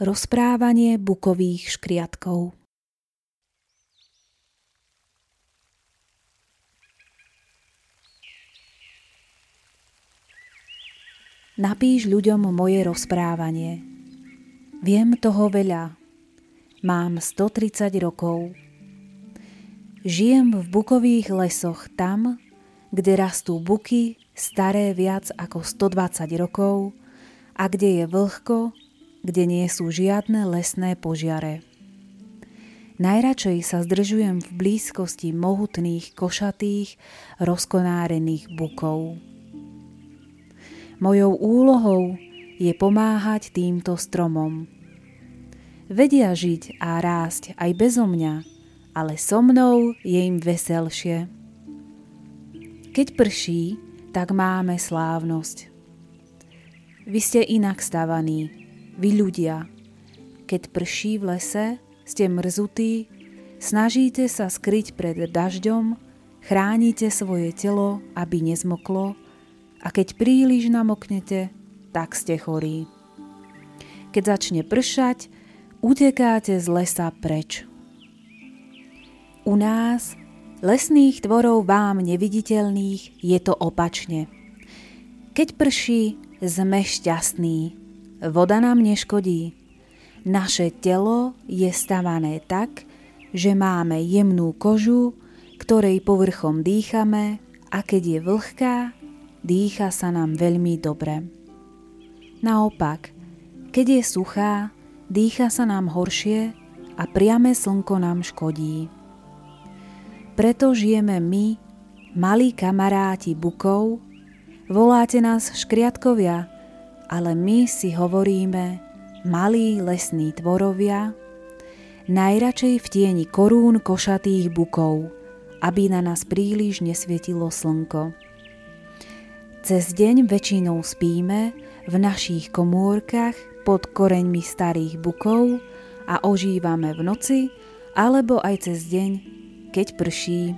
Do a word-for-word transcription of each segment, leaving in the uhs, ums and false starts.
Rozprávanie bukových škriatkov. Napíš ľuďom moje rozprávanie. Viem toho veľa. Mám stotridsať rokov. Žijem v bukových lesoch tam, kde rastú buky staré viac ako stodvadsať rokov a kde je vlhko, kde nie sú žiadne lesné požiare. Najradšej sa zdržujem v blízkosti mohutných, košatých, rozkonárených bukov. Mojou úlohou je pomáhať týmto stromom. Vedia žiť a rásť aj bezo mňa, ale so mnou je im veselšie. Keď prší, tak máme slávnosť. Vy ste inak stavaní. Vy ľudia, keď prší v lese, ste mrzutí, snažíte sa skryť pred dažďom, chránite svoje telo, aby nezmoklo, a keď príliš namoknete, tak ste chorí. Keď začne pršať, utekáte z lesa preč. U nás, lesných tvorov vám neviditeľných, je to opačne. Keď prší, sme šťastní. Voda nám neškodí. Naše telo je stavané tak, že máme jemnú kožu, ktorej povrchom dýchame, a keď je vlhká, dýcha sa nám veľmi dobre. Naopak, keď je suchá, dýcha sa nám horšie a priame slnko nám škodí. Preto žijeme my, malí kamaráti bukov, voláte nás škriatkovia, ale my si hovoríme malí lesní tvorovia, najradšej v tieni korún košatých bukov, aby na nás príliš nesvietilo slnko. Cez deň väčšinou spíme v našich komórkach pod koreňmi starých bukov a ožívame v noci alebo aj cez deň, keď prší.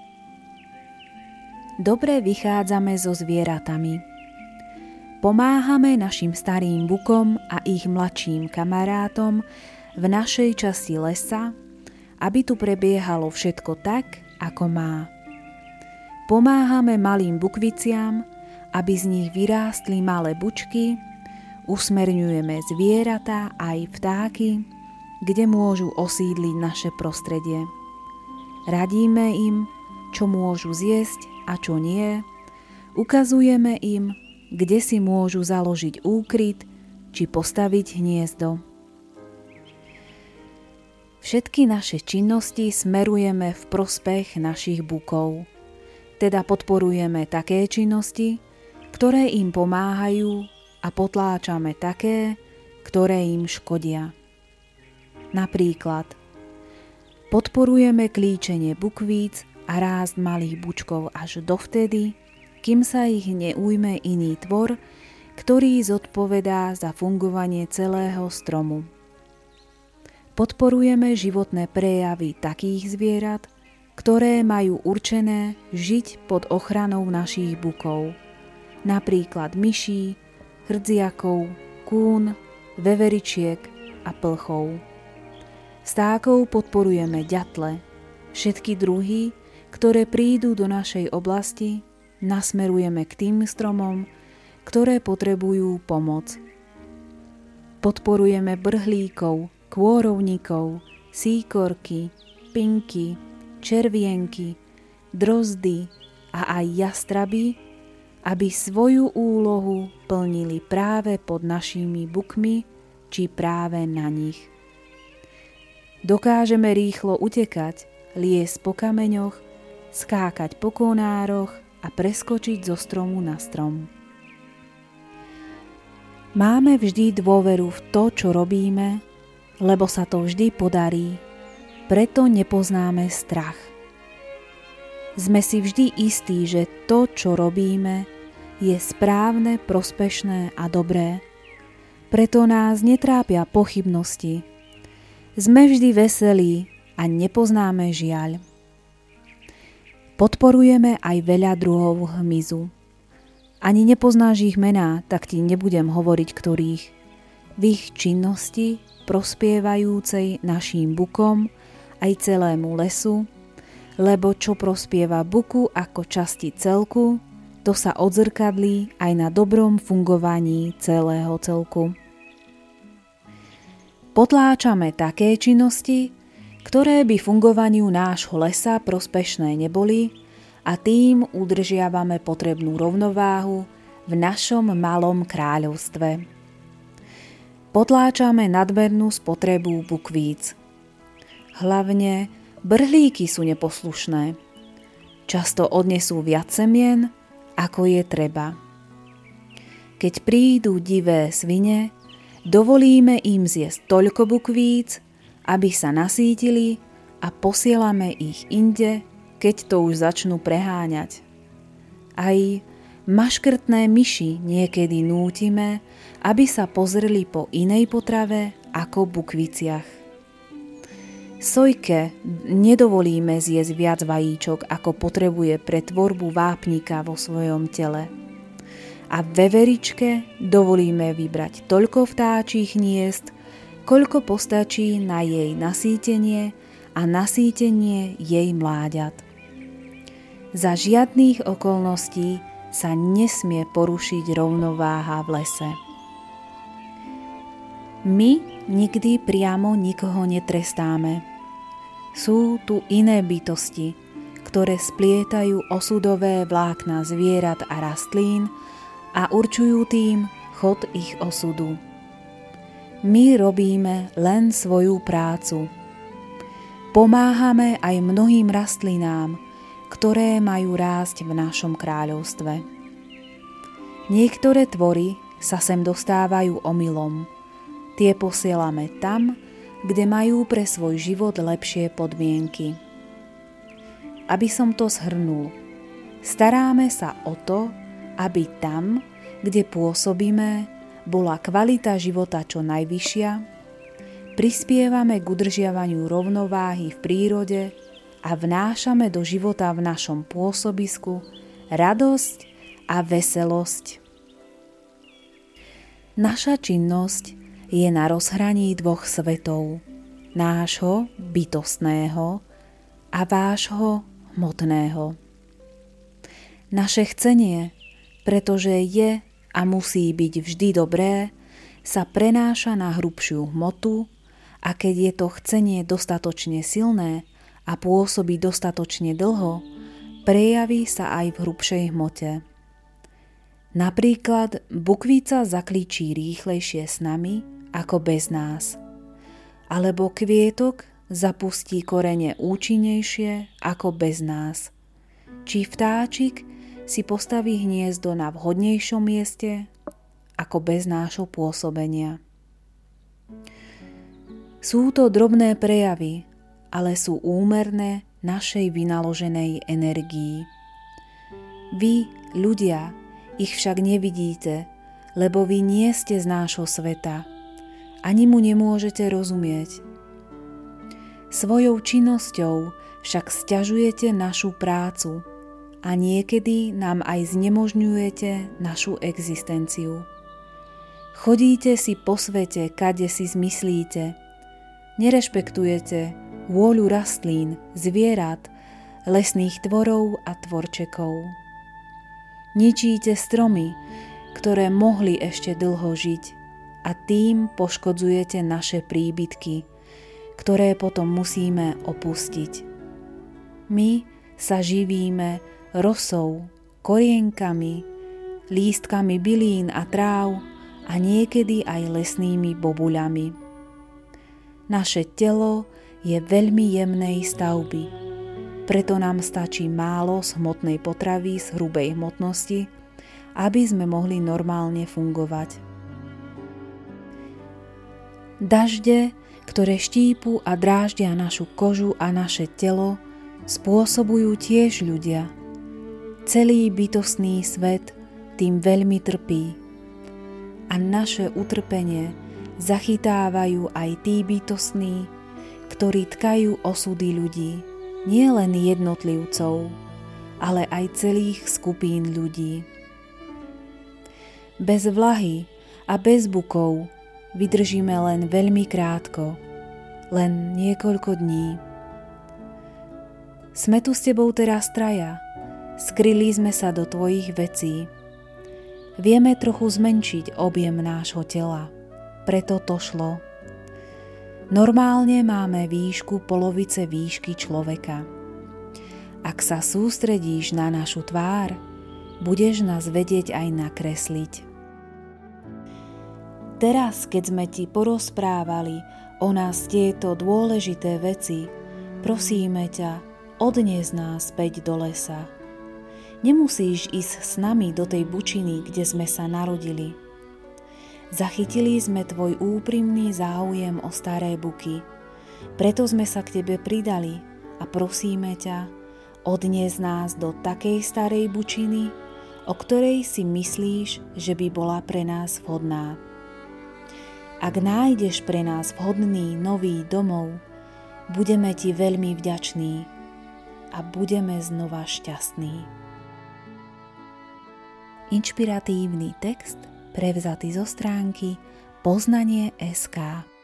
Dobre vychádzame so zvieratami. Pomáhame našim starým bukom a ich mladším kamarátom v našej časti lesa, aby tu prebiehalo všetko tak, ako má. Pomáhame malým bukviciam, aby z nich vyrástli malé bučky, usmerňujeme zvieratá aj vtáky, kde môžu osídliť naše prostredie. Radíme im, čo môžu zjesť a čo nie, ukazujeme im, kde si môžu založiť úkryt či postaviť hniezdo. Všetky naše činnosti smerujeme v prospech našich bukov, teda podporujeme také činnosti, ktoré im pomáhajú, a potláčame také, ktoré im škodia. Napríklad podporujeme klíčenie bukvíc a rást malých bučkov až dovtedy, kým sa ich neujme iný tvor, ktorý zodpovedá za fungovanie celého stromu. Podporujeme životné prejavy takých zvierat, ktoré majú určené žiť pod ochranou našich bukov, napríklad myší, hrdziakov, kún, veveričiek a plchov. Vtákov podporujeme ďatle, všetky druhy, ktoré prídu do našej oblasti, nasmerujeme k tým stromom, ktoré potrebujú pomoc. Podporujeme brhlíkov, kôrovníkov, síkorky, pinky, červienky, drozdy a aj jastraby, aby svoju úlohu plnili práve pod našimi bukmi či práve na nich. Dokážeme rýchlo utekať, liesť po kameňoch, skákať po konároch a preskočiť zo stromu na strom. Máme vždy dôveru v to, čo robíme, lebo sa to vždy podarí, preto nepoznáme strach. Sme si vždy istí, že to, čo robíme, je správne, prospešné a dobré, preto nás netrápia pochybnosti. Sme vždy veselí a nepoznáme žiaľ. Podporujeme aj veľa druhov hmyzu. Ani nepoznáš ich mená, tak ti nebudem hovoriť ktorých. v ich činnosti prospievajúcej našim bukom aj celému lesu, lebo čo prospieva buku ako časti celku, to sa odzrkadlí aj na dobrom fungovaní celého celku. Potláčame také činnosti, ktoré by fungovaniu nášho lesa prospešné neboli, a tým udržiavame potrebnú rovnováhu v našom malom kráľovstve. Potláčame nadmernú spotrebu bukvíc. Hlavne brhlíky sú neposlušné. Často odnesú viac semien, ako je treba. Keď prídu divé svine, dovolíme im zjesť toľko bukvíc, aby sa nasýtili, a posielame ich inde, keď to už začnú preháňať. Aj maškrtné myši niekedy nútime, aby sa pozreli po inej potrave ako bukviciach. Sojke nedovolíme zjesť viac vajíčok, ako potrebuje pre tvorbu vápnika vo svojom tele. A veveričke dovolíme vybrať toľko vtáčich hniezd, koľko postačí na jej nasýtenie a nasýtenie jej mláďat. Za žiadnych okolností sa nesmie porušiť rovnováha v lese. My nikdy priamo nikoho netrestáme. Sú tu iné bytosti, ktoré splietajú osudové vlákna zvierat a rastlín a určujú tým chod ich osudu. My robíme len svoju prácu. Pomáhame aj mnohým rastlinám, ktoré majú rásť v našom kráľovstve. Niektoré tvory sa sem dostávajú omylom. Tie posielame tam, kde majú pre svoj život lepšie podmienky. Aby som to zhrnul, staráme sa o to, aby tam, kde pôsobíme, bola kvalita života čo najvyššia, prispievame k udržiavaniu rovnováhy v prírode a vnášame do života v našom pôsobisku radosť a veselosť. Naša činnosť je na rozhraní dvoch svetov, nášho bytostného a vášho hmotného. Naše chcenie, pretože je a musí byť vždy dobré, sa prenáša na hrubšiu hmotu, a keď je to chcenie dostatočne silné a pôsobí dostatočne dlho, prejaví sa aj v hrubšej hmote. Napríklad bukvica zaklíčí rýchlejšie s nami ako bez nás, alebo kvietok zapustí korene účinnejšie ako bez nás, či vtáčik si postaví hniezdo na vhodnejšom mieste ako bez nášho pôsobenia. Sú to drobné prejavy, ale sú úmerné našej vynaloženej energii. Vy, ľudia, ich však nevidíte, lebo vy nie ste z nášho sveta, ani mu nemôžete rozumieť. Svojou činnosťou však sťažujete našu prácu a niekedy nám aj znemožňujete našu existenciu. Chodíte si po svete, kade si zmyslíte, nerešpektujete vôľu rastlín, zvierat, lesných tvorov a tvorčekov. Ničíte stromy, ktoré mohli ešte dlho žiť, a tým poškodzujete naše príbytky, ktoré potom musíme opustiť. My sa živíme rosou, korienkami, lístkami bylín a tráv a niekedy aj lesnými bobuľami. Naše telo je veľmi jemnej stavby, preto nám stačí málo z hmotnej potravy z hrubej hmotnosti, aby sme mohli normálne fungovať. Dažde, ktoré štípu a dráždia našu kožu a naše telo, spôsobujú tiež ľudia. Celý bytostný svet tým veľmi trpí. A naše utrpenie zachytávajú aj tí bytostní, ktorí tkajú osudy ľudí, nie len jednotlivcov, ale aj celých skupín ľudí. Bez vlahy a bez bukov vydržíme len veľmi krátko, len niekoľko dní. Sme tu s tebou teraz traja, skryli sme sa do tvojich vecí. Vieme trochu zmenšiť objem nášho tela, preto to šlo. Normálne máme výšku polovice výšky človeka. Ak sa sústredíš na našu tvár, budeš nás vedieť aj nakresliť. Teraz, keď sme ti porozprávali o nás tieto dôležité veci, prosíme ťa, odnies nás späť do lesa. Nemusíš ísť s nami do tej bučiny, kde sme sa narodili. Zachytili sme tvoj úprimný záujem o staré buky, preto sme sa k tebe pridali a prosíme ťa, odnies nás do takej starej bučiny, o ktorej si myslíš, že by bola pre nás vhodná. Ak nájdeš pre nás vhodný nový domov, budeme ti veľmi vďační a budeme znova šťastní. Inšpiratívny text prevzatý zo stránky poznanie bodka es ká.